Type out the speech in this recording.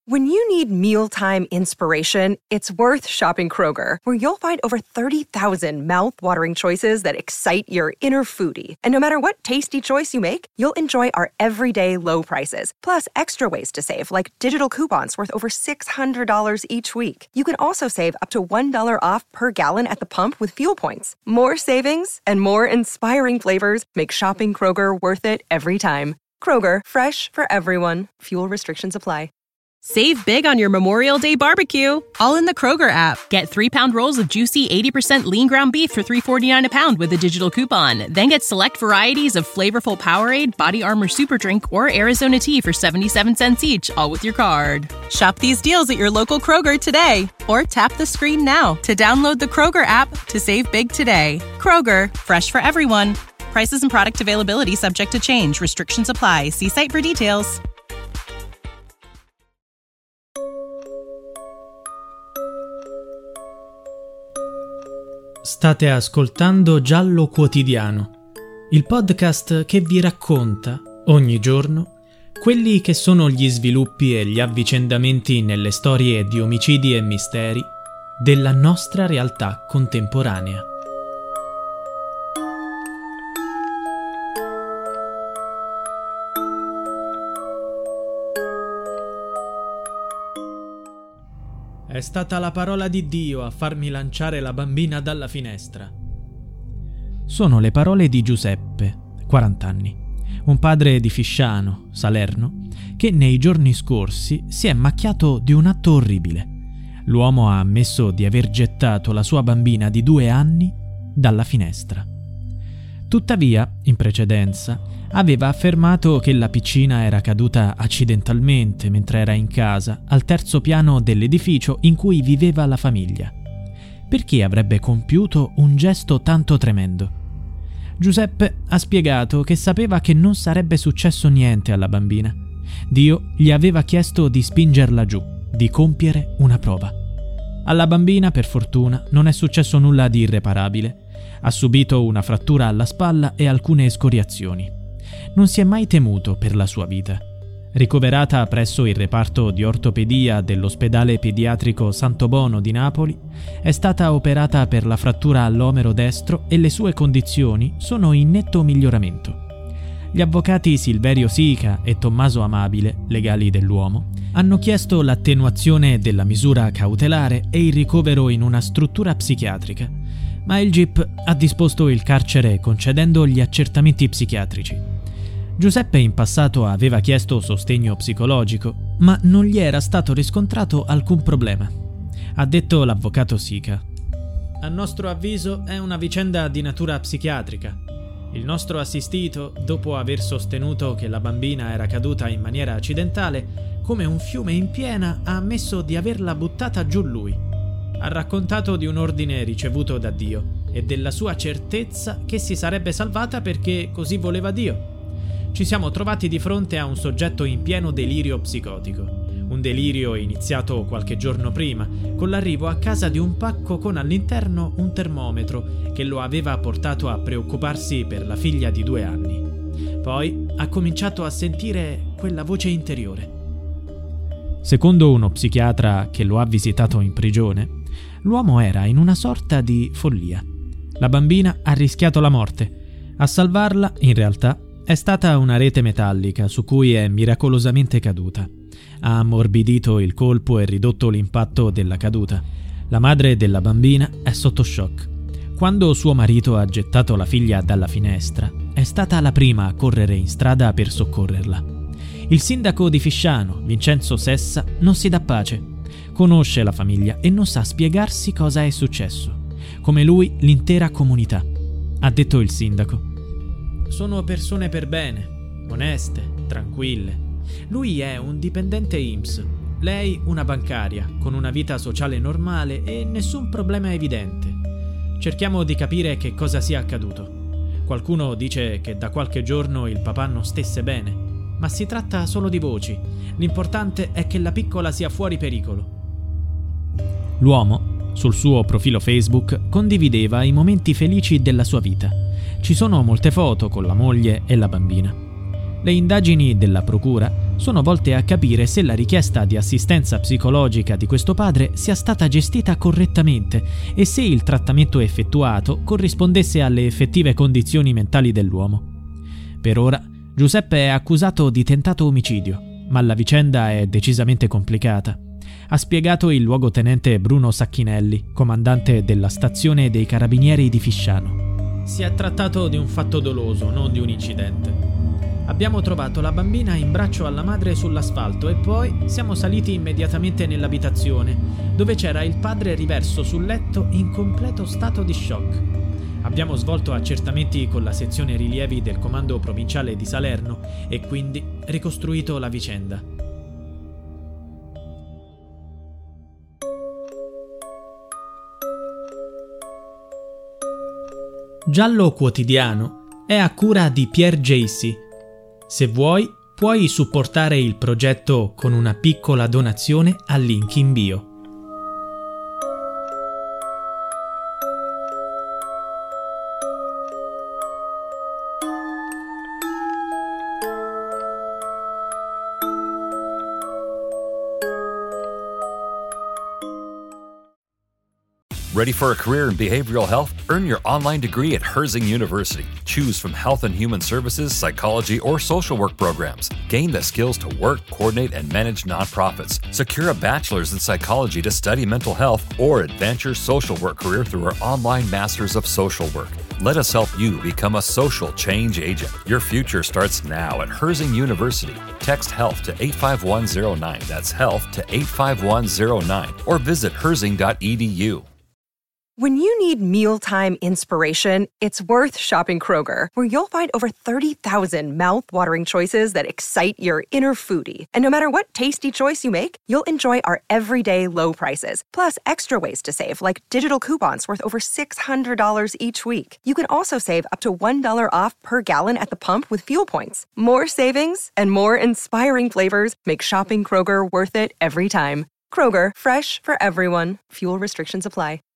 When you need mealtime inspiration, it's worth shopping Kroger, where you'll find over 30,000 mouth-watering choices that excite your inner foodie. And no matter what tasty choice you make, you'll enjoy our everyday low prices, plus extra ways to save, like digital coupons worth over $600 each week. You can also save up to $1 off per gallon at the pump with fuel points. More savings and more inspiring flavors make shopping Kroger worth it every time. Kroger, fresh for everyone. Fuel restrictions apply. Save big on your Memorial Day barbecue, all in the Kroger app. Get 3-pound rolls of juicy 80% lean ground beef for $3.49 a pound with a digital coupon. Then get select varieties of flavorful Powerade, Body Armor Super Drink, or Arizona tea for 77 cents each, all with your card. Shop these deals at your local Kroger today, or tap the screen now to download the Kroger app to save big today. Kroger, fresh for everyone. Prices and product availability subject to change. Restrictions apply. See site for details. State ascoltando Giallo Quotidiano, il podcast che vi racconta, ogni giorno, quelli che sono gli sviluppi e gli avvicendamenti nelle storie di omicidi e misteri della nostra realtà contemporanea. È stata la parola di Dio a farmi lanciare la bambina dalla finestra. Sono le parole di Giuseppe, 40 anni, un padre di Fisciano, Salerno, che nei giorni scorsi si è macchiato di un atto orribile. L'uomo ha ammesso di aver gettato la sua bambina di 2 anni dalla finestra. Tuttavia, in precedenza, aveva affermato che la piccina era caduta accidentalmente mentre era in casa, al 3° piano dell'edificio in cui viveva la famiglia. Perché avrebbe compiuto un gesto tanto tremendo? Giuseppe ha spiegato che sapeva che non sarebbe successo niente alla bambina. Dio gli aveva chiesto di spingerla giù, di compiere una prova. Alla bambina, per fortuna, non è successo nulla di irreparabile. Ha subito una frattura alla spalla e alcune escoriazioni. Non si è mai temuto per la sua vita. Ricoverata presso il reparto di ortopedia dell'ospedale pediatrico Santo Bono di Napoli, è stata operata per la frattura all'omero destro e le sue condizioni sono in netto miglioramento. Gli avvocati Silverio Sica e Tommaso Amabile, legali dell'uomo, hanno chiesto l'attenuazione della misura cautelare e il ricovero in una struttura psichiatrica, ma il GIP ha disposto il carcere concedendo gli accertamenti psichiatrici. Giuseppe in passato aveva chiesto sostegno psicologico, ma non gli era stato riscontrato alcun problema. Ha detto l'avvocato Sica: "A nostro avviso è una vicenda di natura psichiatrica. Il nostro assistito, dopo aver sostenuto che la bambina era caduta in maniera accidentale, come un fiume in piena, ha ammesso di averla buttata giù lui. Ha raccontato di un ordine ricevuto da Dio e della sua certezza che si sarebbe salvata perché così voleva Dio. Ci siamo trovati di fronte a un soggetto in pieno delirio psicotico. Un delirio iniziato qualche giorno prima, con l'arrivo a casa di un pacco con all'interno un termometro che lo aveva portato a preoccuparsi per la figlia di 2 anni. Poi ha cominciato a sentire quella voce interiore." Secondo uno psichiatra che lo ha visitato in prigione, l'uomo era in una sorta di follia. La bambina ha rischiato la morte. A salvarla, in realtà, è stata una rete metallica su cui è miracolosamente caduta. Ha ammorbidito il colpo e ridotto l'impatto della caduta. La madre della bambina è sotto shock. Quando suo marito ha gettato la figlia dalla finestra, è stata la prima a correre in strada per soccorrerla. Il sindaco di Fisciano, Vincenzo Sessa, non si dà pace. Conosce la famiglia e non sa spiegarsi cosa è successo. Come lui, l'intera comunità. Ha detto il sindaco: "Sono persone per bene, oneste, tranquille. Lui è un dipendente INPS, lei una bancaria, con una vita sociale normale e nessun problema evidente. Cerchiamo di capire che cosa sia accaduto. Qualcuno dice che da qualche giorno il papà non stesse bene, ma si tratta solo di voci. L'importante è che la piccola sia fuori pericolo." L'uomo, sul suo profilo Facebook, condivideva i momenti felici della sua vita. Ci sono molte foto con la moglie e la bambina. Le indagini della procura sono volte a capire se la richiesta di assistenza psicologica di questo padre sia stata gestita correttamente e se il trattamento effettuato corrispondesse alle effettive condizioni mentali dell'uomo. Per ora, Giuseppe è accusato di tentato omicidio, ma la vicenda è decisamente complicata. Ha spiegato il luogotenente Bruno Sacchinelli, comandante della stazione dei Carabinieri di Fisciano. Si è trattato di un fatto doloso, non di un incidente. Abbiamo trovato la bambina in braccio alla madre sull'asfalto e poi siamo saliti immediatamente nell'abitazione, dove c'era il padre riverso sul letto in completo stato di shock. Abbiamo svolto accertamenti con la sezione rilievi del comando provinciale di Salerno e quindi ricostruito la vicenda. Giallo Quotidiano è a cura di Pierre Jacy. Se vuoi, puoi supportare il progetto con una piccola donazione al link in bio. Ready for a career in behavioral health? Earn your online degree at Herzing University. Choose from health and human services, psychology, or social work programs. Gain the skills to work, coordinate, and manage nonprofits. Secure a bachelor's in psychology to study mental health or advance your social work career through our online Masters of Social Work. Let us help you become a social change agent. Your future starts now at Herzing University. Text HEALTH to 85109. That's HEALTH to 85109. Or visit herzing.edu. When you need mealtime inspiration, it's worth shopping Kroger, where you'll find over 30,000 mouth-watering choices that excite your inner foodie. And no matter what tasty choice you make, you'll enjoy our everyday low prices, plus extra ways to save, like digital coupons worth over $600 each week. You can also save up to $1 off per gallon at the pump with fuel points. More savings and more inspiring flavors make shopping Kroger worth it every time. Kroger, fresh for everyone. Fuel restrictions apply.